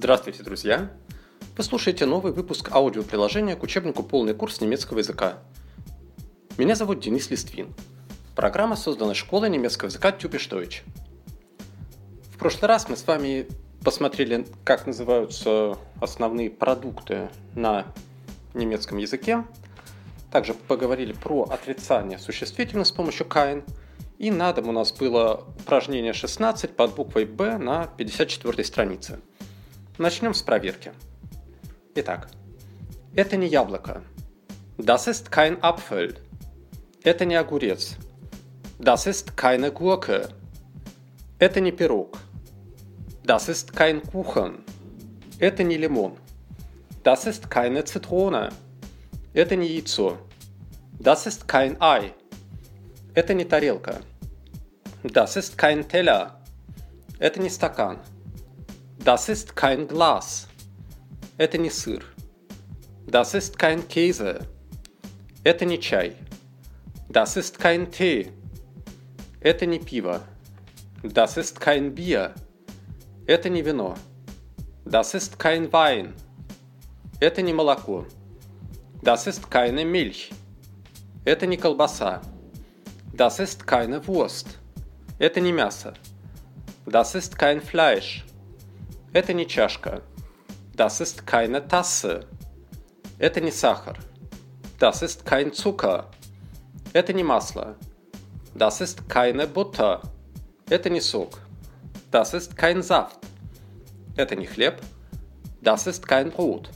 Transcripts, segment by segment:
Здравствуйте, друзья! Вы слушаете новый выпуск аудиоприложения к учебнику «Полный курс немецкого языка». Меня зовут Денис Листвин. Программа создана школой немецкого языка Typisch Deutsch. В прошлый раз мы с вами посмотрели, как называются основные продукты на немецком языке. Также поговорили про отрицание существительных с помощью kein. И на дом у нас было упражнение 16 под буквой «Б» на 54 странице. Начнем с проверки. Итак, это не яблоко. Das ist kein Apfel. Это не огурец. Das ist keine Gurke. Это не пирог. Das ist kein Kuchen. Это не лимон. Das ist keine Zitrone. Это не яйцо. Das ist kein Ei. Это не тарелка. Das ist kein Teller. Это не стакан. Das ist kein Glas. Это не сыр. Das ist kein Käse. Это не чай. Das ist kein Tee. Это не пиво. Das ist kein Bier. Это не вино. Das ist kein Wein. Это не молоко. Das ist keine Milch. Это не колбаса. Das ist keine Wurst. Это не мясо. Das ist kein Fleisch. Это не чашка. Das ist keine Tasse. Это не сахар. Das ist kein Zucker. Это не масло. Das ist keine Butter. Это не сок. Das ist kein Saft. Это не хлеб. Das ist kein Brot.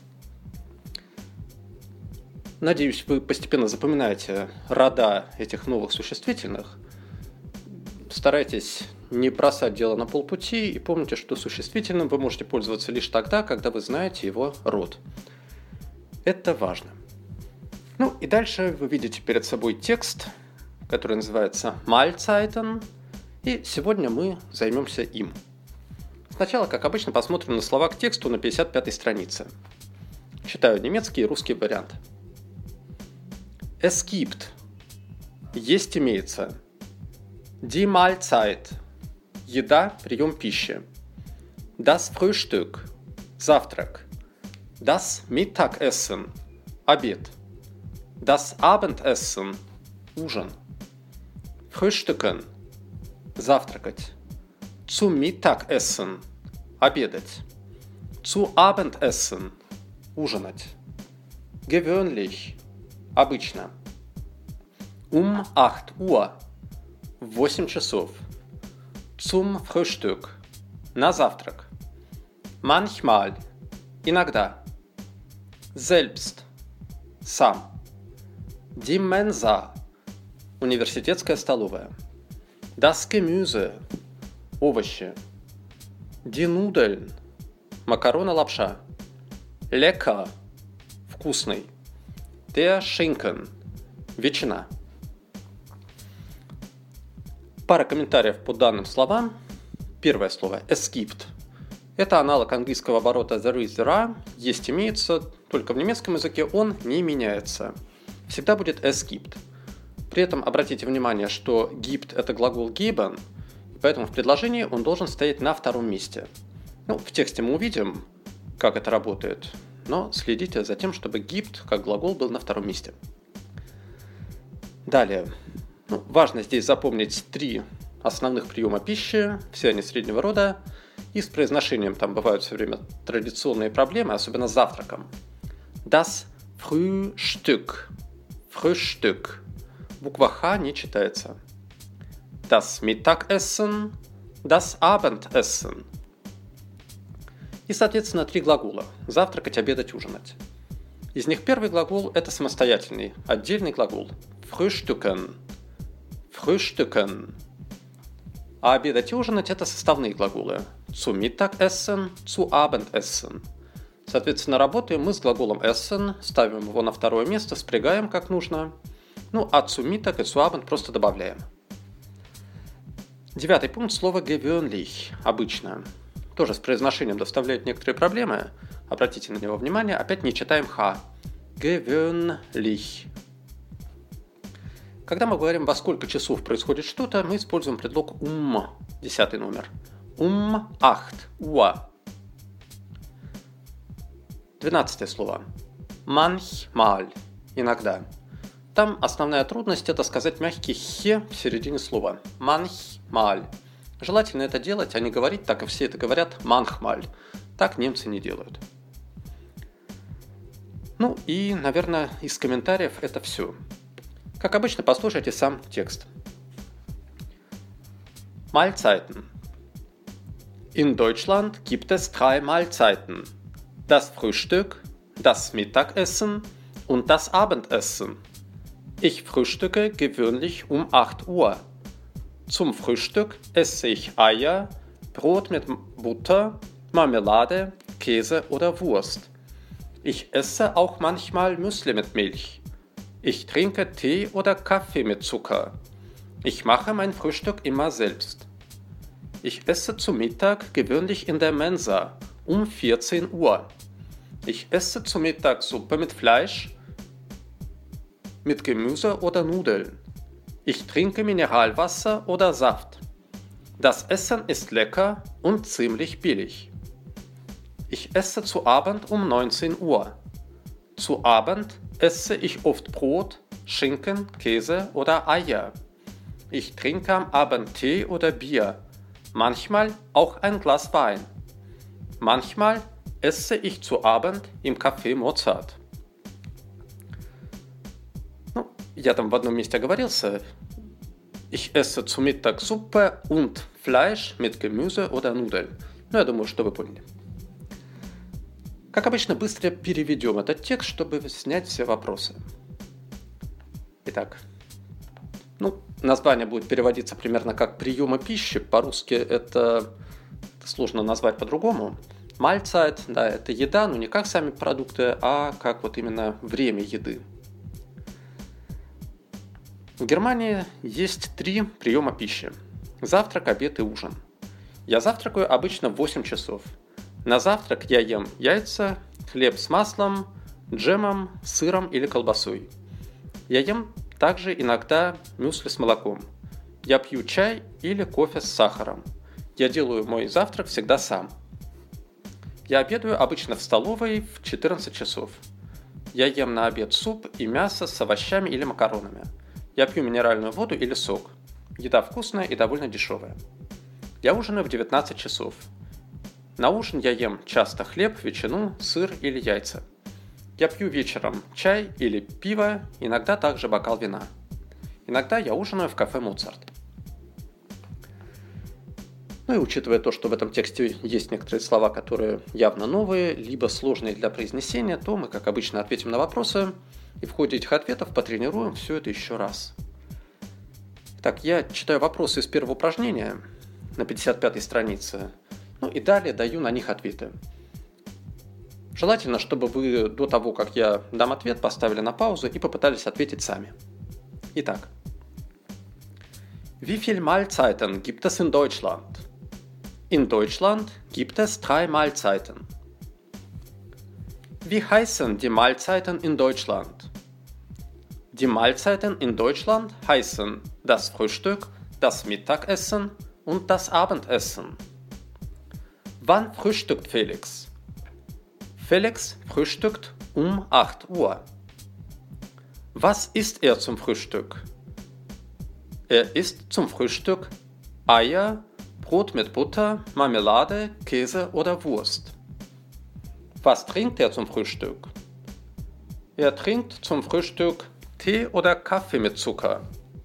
Надеюсь, вы постепенно запоминаете рода этих новых существительных. Старайтесь не бросать дело на полпути и помните, что существительным вы можете пользоваться лишь тогда, когда вы знаете его род. Это важно. Ну и дальше вы видите перед собой текст, который называется Mahlzeiten, и сегодня мы займемся им. Сначала, как обычно, посмотрим на слова к тексту на 55-й странице. Читаю немецкий и русский вариант. Es gibt. Есть имеется. Die Mahlzeit. Еда, прием пищи. Das Frühstück. Завтрак. Das Mittagessen. Обед. Das Abendessen. Ужин. Frühstücken. Завтракать. Zum Mittagessen. Обедать. Zu Abendessen. Ужинать. Gewöhnlich. Обычно. 8 Uhr. В 8 часов. Zum Frühstück. На завтрак. Manchmal. Иногда. Selbst. Сам. Die Mensa. Университетская столовая. Das Gemüse. Овощи. Die Nudeln. Макароны, лапша. Lecker. Вкусный. Der Schinken. Ветчина. Пара комментариев по данным словам. Первое слово es gibt. Это аналог английского оборота there is, there are. Есть, имеется, только в немецком языке он не меняется. Всегда будет es gibt. При этом обратите внимание, что gibt это глагол geben, поэтому в предложении он должен стоять на втором месте. В тексте мы увидим, как это работает, но следите за тем, чтобы gibt как глагол был на втором месте. Далее. Важно здесь запомнить 3 основных приема пищи, все они среднего рода, и с произношением там бывают все время традиционные проблемы, особенно с завтраком. Das Frühstück. Frühstück. Буква Х не читается. Das Mittagessen. Das Abendessen. И, соответственно, 3 глагола. Завтракать, обедать, ужинать. Из них первый глагол – это самостоятельный, отдельный глагол. Frühstücken. Frühstücken. А обедать и ужинать – это составные глаголы. Zu Mittagessen, zu Abendessen. Соответственно, работаем мы с глаголом essen, ставим его на второе место, спрягаем как нужно. А zu Mittag и zu Abend просто добавляем. 9-й пункт – слово gewöhnlich – обычно. Тоже с произношением доставляет некоторые проблемы. Обратите на него внимание, опять не читаем Х. Gewöhnlich. Когда мы говорим, во сколько часов происходит что-то, мы используем предлог 10 номер. 8 Uhr. 12 слово. Manchmal. Иногда. Там основная трудность – это сказать мягкий «хе» в середине слова. Manchmal. Желательно это делать, а не говорить так, как все это говорят manchmal. Так немцы не делают. Ну и, наверное, из комментариев это все. Как обычно, послушайте сам текст. Mahlzeiten. In Deutschland gibt es 3 Mahlzeiten. Das Frühstück, das Mittagessen und das Abendessen. Ich frühstücke gewöhnlich um 8 Uhr. Zum Frühstück esse ich Eier, Brot mit Butter, Marmelade, Käse oder Wurst. Ich esse auch manchmal Müsli mit Milch. Ich trinke Tee oder Kaffee mit Zucker. Ich mache mein Frühstück immer selbst. Ich esse zu Mittag gewöhnlich in der Mensa um 14 Uhr. Ich esse zu Mittag Suppe mit Fleisch, mit Gemüse oder Nudeln. Ich trinke Mineralwasser oder Saft. Das Essen ist lecker und ziemlich billig. Ich esse zu Abend um 19 Uhr. Zu Abend esse ich oft Brot, Schinken, Käse oder Eier. Ich trinke am Abend Tee oder Bier, manchmal auch ein Glas Wein. Manchmal esse ich zu Abend im Café Mozart. Я там в одном месте оговорился. Ich esse zu Mittag Suppe und Fleisch mit Gemüse oder Nudeln. Я думаю, что вы поняли. Как обычно, быстро переведем этот текст, чтобы снять все вопросы. Итак, название будет переводиться примерно как «приемы пищи». По-русски это сложно назвать по-другому. Mahlzeit, да, это еда, но не как сами продукты, а как вот именно время еды. В Германии есть 3 приема пищи. Завтрак, обед и ужин. Я завтракаю обычно в 8 часов. На завтрак я ем яйца, хлеб с маслом, джемом, сыром или колбасой. Я ем также иногда мюсли с молоком. Я пью чай или кофе с сахаром. Я делаю мой завтрак всегда сам. Я обедаю обычно в столовой в 14 часов. Я ем на обед суп и мясо с овощами или макаронами. Я пью минеральную воду или сок. Еда вкусная и довольно дешевая. Я ужинаю в 19 часов. На ужин я ем часто хлеб, ветчину, сыр или яйца. Я пью вечером чай или пиво, иногда также бокал вина. Иногда я ужинаю в кафе Моцарт. И учитывая то, что в этом тексте есть некоторые слова, которые явно новые, либо сложные для произнесения, то мы, как обычно, ответим на вопросы и в ходе этих ответов потренируем все это еще раз. Так, я читаю вопросы из первого упражнения на 55-й странице, и далее даю на них ответы. Желательно, чтобы вы до того, как я дам ответ, поставили на паузу и попытались ответить сами. Итак. Wie viele Mahlzeiten gibt es in Deutschland? In Deutschland gibt es 3 Mahlzeiten. Wie heißen die Mahlzeiten in Deutschland? Die Mahlzeiten in Deutschland heißen das Frühstück, das Mittagessen und das Abendessen. Wann frühstückt Felix? Felix frühstückt um 8 Uhr. Was isst er zum Frühstück? Er isst zum Frühstück Eier, Brot mit Butter, Marmelade, Käse oder Wurst. Was trinkt er zum Frühstück? Er trinkt zum Frühstück Tee oder Kaffee mit Zucker.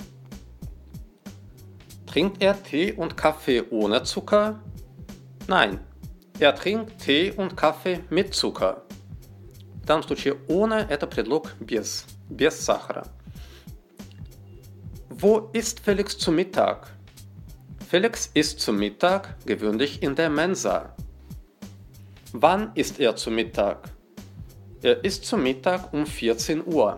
Trinkt er Tee und Kaffee ohne Zucker? Nein, er trinkt Tee und Kaffee mit Zucker. В данном случае ohne – это предлог без сахара. Wo isst Felix zu Mittag? Felix isst zu Mittag gewöhnlich in der Mensa. Wann isst er zu Mittag? Er isst zu Mittag um 14 Uhr.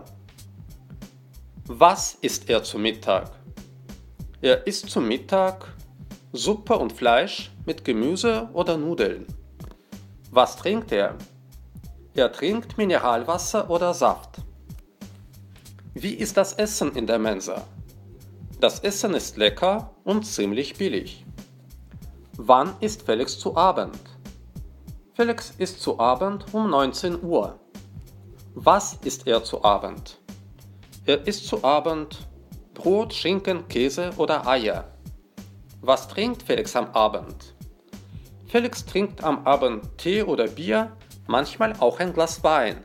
Was isst er zu Mittag? Er isst zu Mittag Suppe und Fleisch mit Gemüse oder Nudeln. Was trinkt er? Er trinkt Mineralwasser oder Saft. Wie ist das Essen in der Mensa? Das Essen ist lecker und ziemlich billig. Wann isst Felix zu Abend? Felix isst zu Abend um 19 Uhr. Was isst er zu Abend? Er isst zu Abend Brot, Schinken, Käse oder Eier. Was trinkt Felix am Abend? Felix trinkt am Abend Tee oder Bier, manchmal auch ein Glas Wein.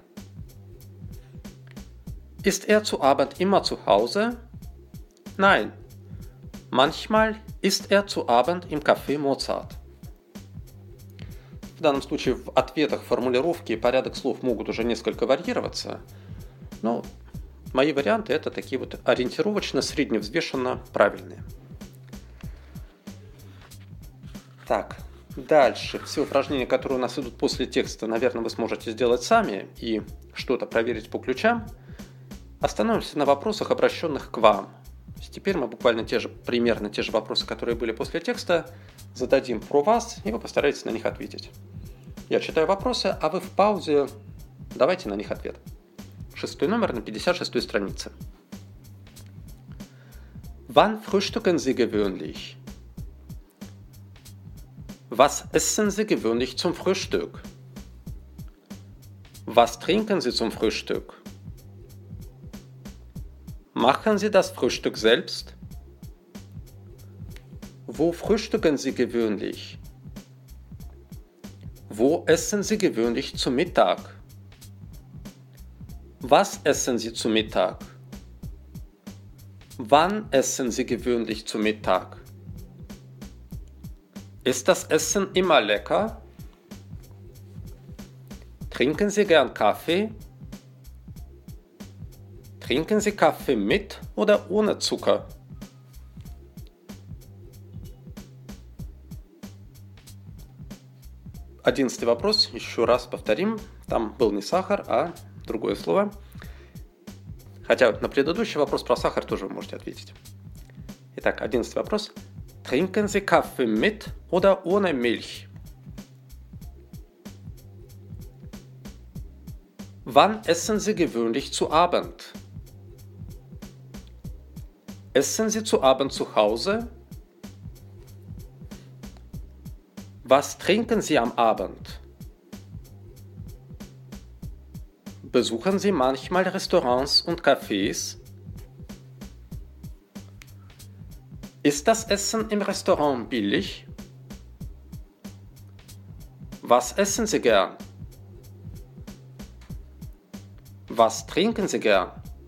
Ist er zu Abend immer zu Hause? Nein. Manchmal isst er zu Abend im Café Mozart. В данном случае в ответах формулировки и порядок слов могут уже несколько варьироваться, но мои варианты это такие вот ориентировочно, средневзвешенно правильные. Так, дальше. Все упражнения, которые у нас идут после текста, наверное, вы сможете сделать сами и что-то проверить по ключам. Остановимся на вопросах, обращенных к вам. Теперь мы буквально примерно те же вопросы, которые были после текста, зададим про вас, и вы постараетесь на них ответить. Я читаю вопросы, а вы в паузе давайте на них ответ. 6 номер на 56 странице. Wann frühstücken Sie gewöhnlich? Was essen Sie gewöhnlich zum Frühstück? Was trinken Sie zum Frühstück? Machen Sie das Frühstück selbst? Wo frühstücken Sie gewöhnlich? Wo essen Sie gewöhnlich zu Mittag? Was essen Sie zu Mittag? Wann essen Sie gewöhnlich zu Mittag? Ist das Essen immer lecker? Trinken Sie gern Kaffee? Trinken Sie Kaffee mit oder ohne Zucker? Одиннадцатый вопрос, еще раз повторим. Там был не сахар, а другое слово. Хотя на предыдущий вопрос про сахар тоже вы можете ответить. Итак, 11 вопрос. Trinken Sie Kaffee mit oder ohne Milch? Wann essen Sie gewöhnlich zu Abend? Essen Sie zu Abend zu Hause? Was trinken Sie am Abend? Besuchen Sie manchmal Restaurants und Cafés? Ist das Essen im Restaurant billig? Was essen Sie gern? Was trinken Sie gern?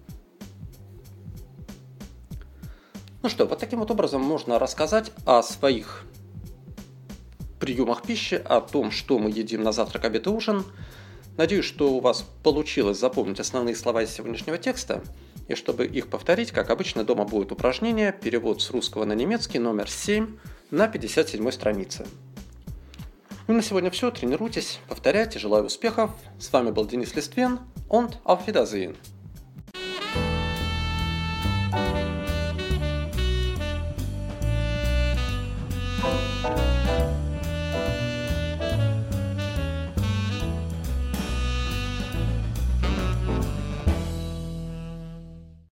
Ну что, вот таким вот образом можно рассказать о своих приемах пищи, о том, что мы едим на завтрак, обед и ужин. Надеюсь, что у вас получилось запомнить основные слова из сегодняшнего текста. И чтобы их повторить, как обычно, дома будет упражнение, перевод с русского на немецкий, номер 7 на 57 странице. Ну и на сегодня все. Тренируйтесь, повторяйте. Желаю успехов. С вами был Денис Листвин. Und auf Wiedersehen.